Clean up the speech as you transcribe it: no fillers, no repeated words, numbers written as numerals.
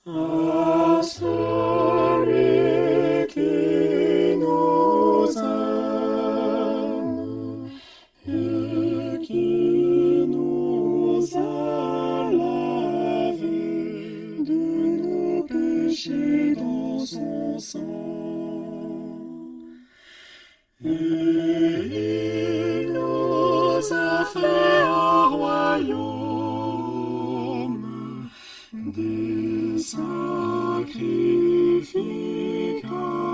à celui qui nous aime et qui nous a lavés de nos péchés dans son sang. Et il nous a fait un royaume des sacrificateurs.